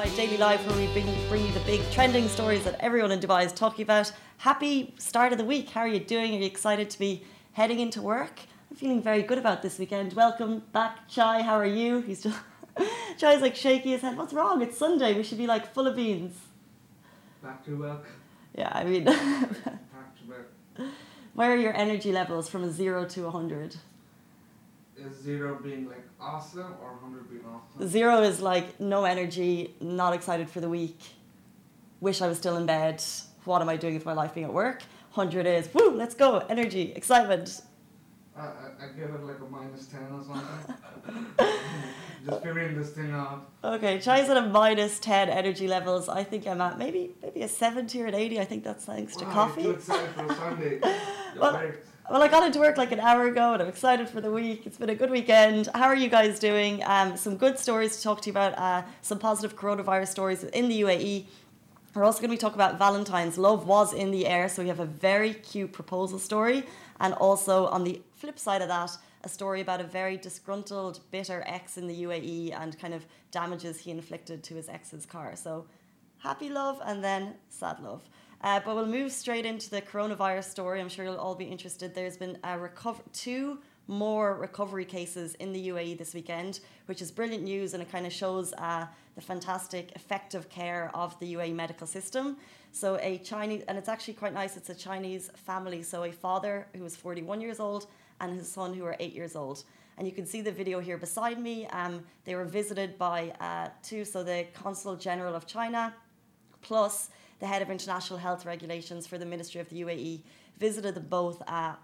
Dubai Daily Live, where we bring you the big trending stories that everyone in Dubai is talking about. Happy start of the week. How are you doing? Are you excited to be heading into work? I'm feeling very good about this weekend. Welcome back, Chai. How are you? He's just Chai's like shaky his head. What's wrong? It's Sunday. We should be like full of beans. Back to work. Yeah, I mean, Back to work. where are your energy levels from a 0 to 100? Is 0 being like awesome or 100 being awesome? 0 is like no energy, not excited for the week, wish I was still in bed, what am I doing with my life being at work? 100 is, woo, let's go, energy, excitement. I give it like a -10 or something. Just figuring this thing out. Okay, Chai's at a -10 energy levels. I think I'm at maybe a 70 or an 80. I think that's thanks to coffee. You're too excited for a Sunday. Well, I got into work like an hour ago and I'm excited for the week. It's been a good weekend. How are you guys doing? Some good stories to talk to you about, some positive coronavirus stories in the UAE. We're also going to be talking about Valentine's. Love was in the air, so we have a very cute proposal story. And also on the flip side of that, a story about a very disgruntled, bitter ex in the UAE and kind of damages he inflicted to his ex's car. So happy love and then sad love. But we'll move straight into the coronavirus story. I'm sure you'll all be interested. There's been two more recovery cases in the UAE this weekend, which is brilliant news, and it kind of shows the fantastic, effective care of the UAE medical system. So a Chinese, and it's actually quite nice, it's a Chinese family. So a father who was 41 years old and his son who are 8 years old. And you can see the video here beside me. They were visited by the Consul General of China, plus the head of international health regulations for the Ministry of the UAE, visited them both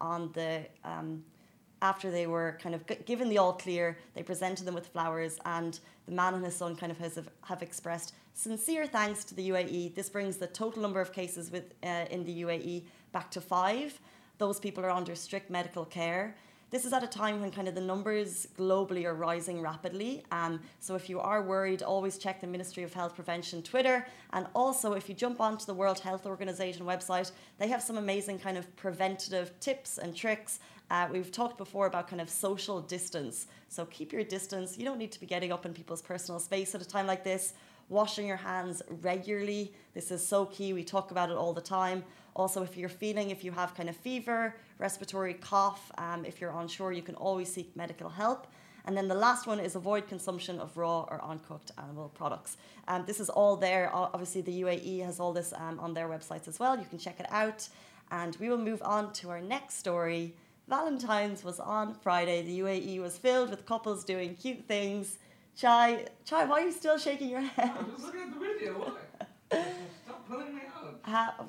after they were kind of given the all clear. They presented them with flowers, and the man and his son kind of have expressed sincere thanks to the UAE. This brings the total number of cases in the UAE back to 5. Those people are under strict medical care. This is at a time when kind of the numbers globally are rising rapidly. So if you are worried, always check the Ministry of Health Prevention Twitter. And also, if you jump onto the World Health Organization website, they have some amazing kind of preventative tips and tricks. We've talked before about kind of social distance. So keep your distance. You don't need to be getting up in people's personal space at a time like this. Washing your hands regularly. This is so key. We talk about it all the time. Also, if you have kind of fever, respiratory cough, if you're unsure, you can always seek medical help. And then the last one is avoid consumption of raw or uncooked animal products. This is all there. Obviously, the UAE has all this on their websites as well. You can check it out. And we will move on to our next story. Valentine's was on Friday. The UAE was filled with couples doing cute things. Chai, why are you still shaking your head? I'm just looking at the video. Why? Stop pulling me out.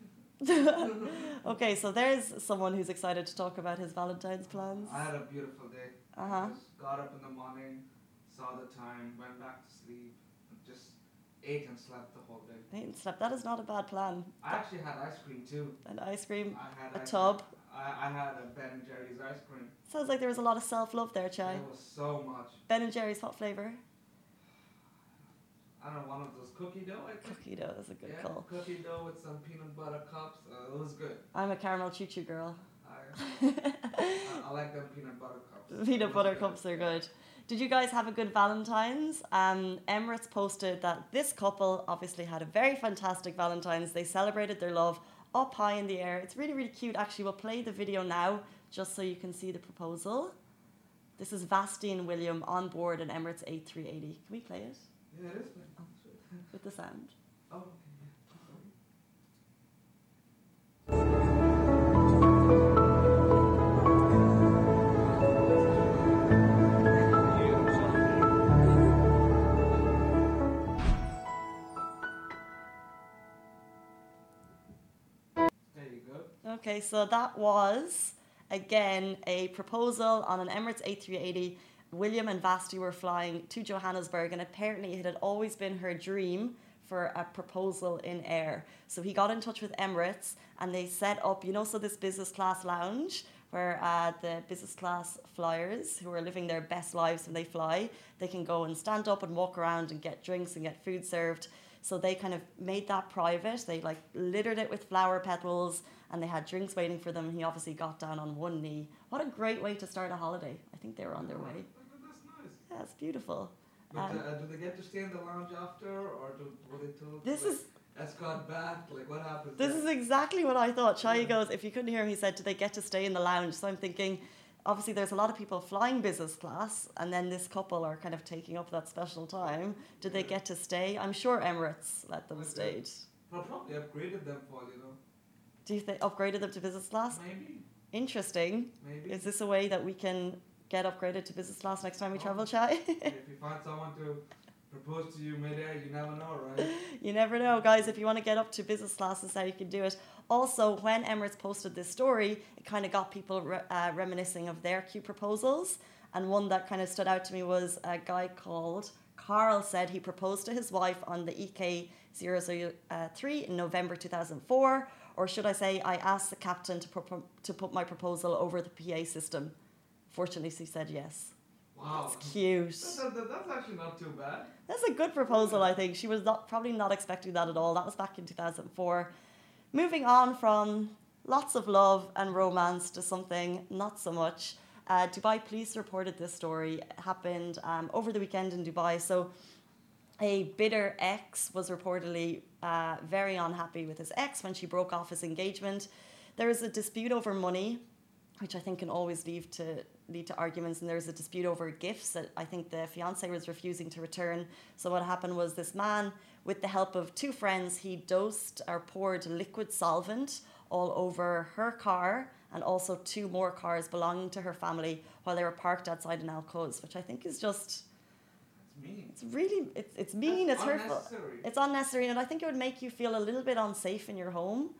Okay, so there's someone who's excited to talk about his Valentine's plans. I had a beautiful day. Just got up in the morning, saw the time, went back to sleep, just ate and slept the whole day. Ate and slept. That is not a bad plan. I actually had ice cream too. An ice cream, a ice tub. I had a Ben & Jerry's ice cream. Sounds like there was a lot of self-love there, Chai. There was so much. Ben & Jerry's, what flavour? I don't know, one of those cookie dough, I think. Cookie dough, that's a good call. Cookie dough with some peanut butter cups. It was good. I'm a caramel choo-choo girl. I like them peanut butter cups. Peanut butter cups are good. Did you guys have a good Valentine's? Emirates posted that this couple obviously had a very fantastic Valentine's. They celebrated their love up high in the air. It's really, really cute. Actually, we'll play the video now just so you can see the proposal. This is Vasti and William on board an Emirates A380. Can we play it? Yeah, it is playing. With the sound. Oh, okay. Okay, so that was, again, a proposal on an Emirates A380. William and Vasti were flying to Johannesburg, and apparently it had always been her dream for a proposal in air. So he got in touch with Emirates, and they set up, this business class lounge where the business class flyers who are living their best lives when they fly, they can go and stand up and walk around and get drinks and get food served. So they kind of made that private. They littered it with flower petals, and they had drinks waiting for them. He obviously got down on one knee. What a great way to start a holiday. I think they were on their way. That's nice. Yeah, it's beautiful. But do they get to stay in the lounge after, or were they told This to, is escort back? Like, what happens? This is exactly what I thought. Shai goes, if you couldn't hear him, he said, do they get to stay in the lounge? So I'm thinking, obviously there's a lot of people flying business class, and then this couple are kind of taking up that special time. Do they get to stay? I'm sure Emirates let them stay. Well, probably upgraded them for, Do you think upgraded them to business class? Maybe. Interesting. Maybe. Is this a way that we can get upgraded to business class next time we travel, Shai? If you find someone to propose to you mid-air, you never know, right? You never know, guys. If you want to get up to business class, this is how you can do it. Also, when Emirates posted this story, it kind of got people reminiscing of their cute proposals. And one that kind of stood out to me was a guy called Carl said he proposed to his wife on the EK003 in November 2004. Or should I say, I asked the captain to put my proposal over the PA system. Fortunately, she said yes. Wow. It's cute. That's actually not too bad. That's a good proposal, I think. She was probably not expecting that at all. That was back in 2004. Moving on from lots of love and romance to something not so much. Dubai police reported this story. It happened over the weekend in Dubai. So a bitter ex was reportedly very unhappy with his ex when she broke off his engagement. There was a dispute over money, which I think can always lead to arguments, and there was a dispute over gifts that I think the fiancé was refusing to return. So what happened was this man, with the help of two friends, he dosed or poured liquid solvent all over her car and also two more cars belonging to her family while they were parked outside an Al-Quds, which I think is just... It's mean. It's really... It's mean, That's it's hurtful. It's unnecessary, and I think it would make you feel a little bit unsafe in your home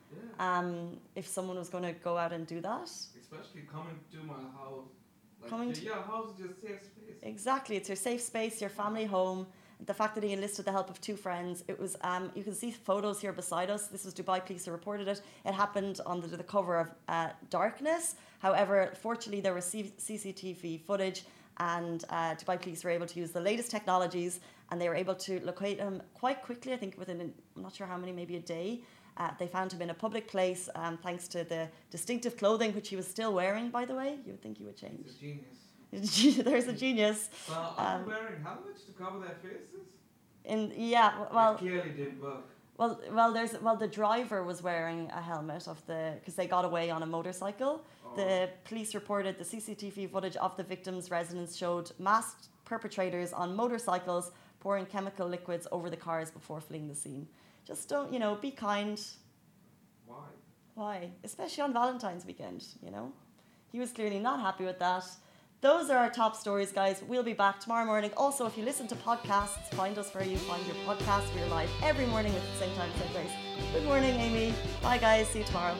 if someone was going to go out and do that. Especially coming to my house. Your house is just safe space. Exactly, it's your safe space, your family home. The fact that he enlisted the help of two friends, it was. You can see photos here beside us. This was Dubai police who reported it. It happened on the cover of Darkness. However, fortunately, there was CCTV footage, and Dubai police were able to use the latest technologies, and they were able to locate him quite quickly. I think within, I'm not sure how many, maybe a day. They found him in a public place, thanks to the distinctive clothing, which he was still wearing, by the way. You would think he would change. He's a genius. There's a genius. Well, are they wearing helmets to cover their faces? Well, it clearly didn't work. Well, the driver was wearing a helmet because they got away on a motorcycle. Oh. The police reported the CCTV footage of the victim's residence showed masked perpetrators on motorcycles pouring chemical liquids over the cars before fleeing the scene. Just don't, be kind. Why? Especially on Valentine's weekend, He was clearly not happy with that. Those are our top stories, guys. We'll be back tomorrow morning. Also, if you listen to podcasts, find us where you find your podcasts. We're live every morning at the same time, same place. Good morning, Amy. Bye, guys. See you tomorrow.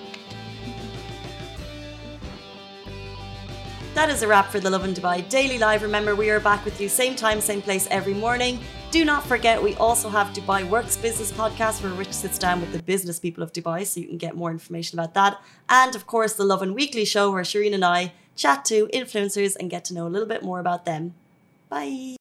That is a wrap for the Lovin Dubai Daily Live. Remember, we are back with you same time, same place every morning. Do not forget, we also have Dubai Works Business Podcast, where Rich sits down with the business people of Dubai, so you can get more information about that. And of course, the Lovin Weekly Show, where Shireen and I chat to influencers and get to know a little bit more about them. Bye.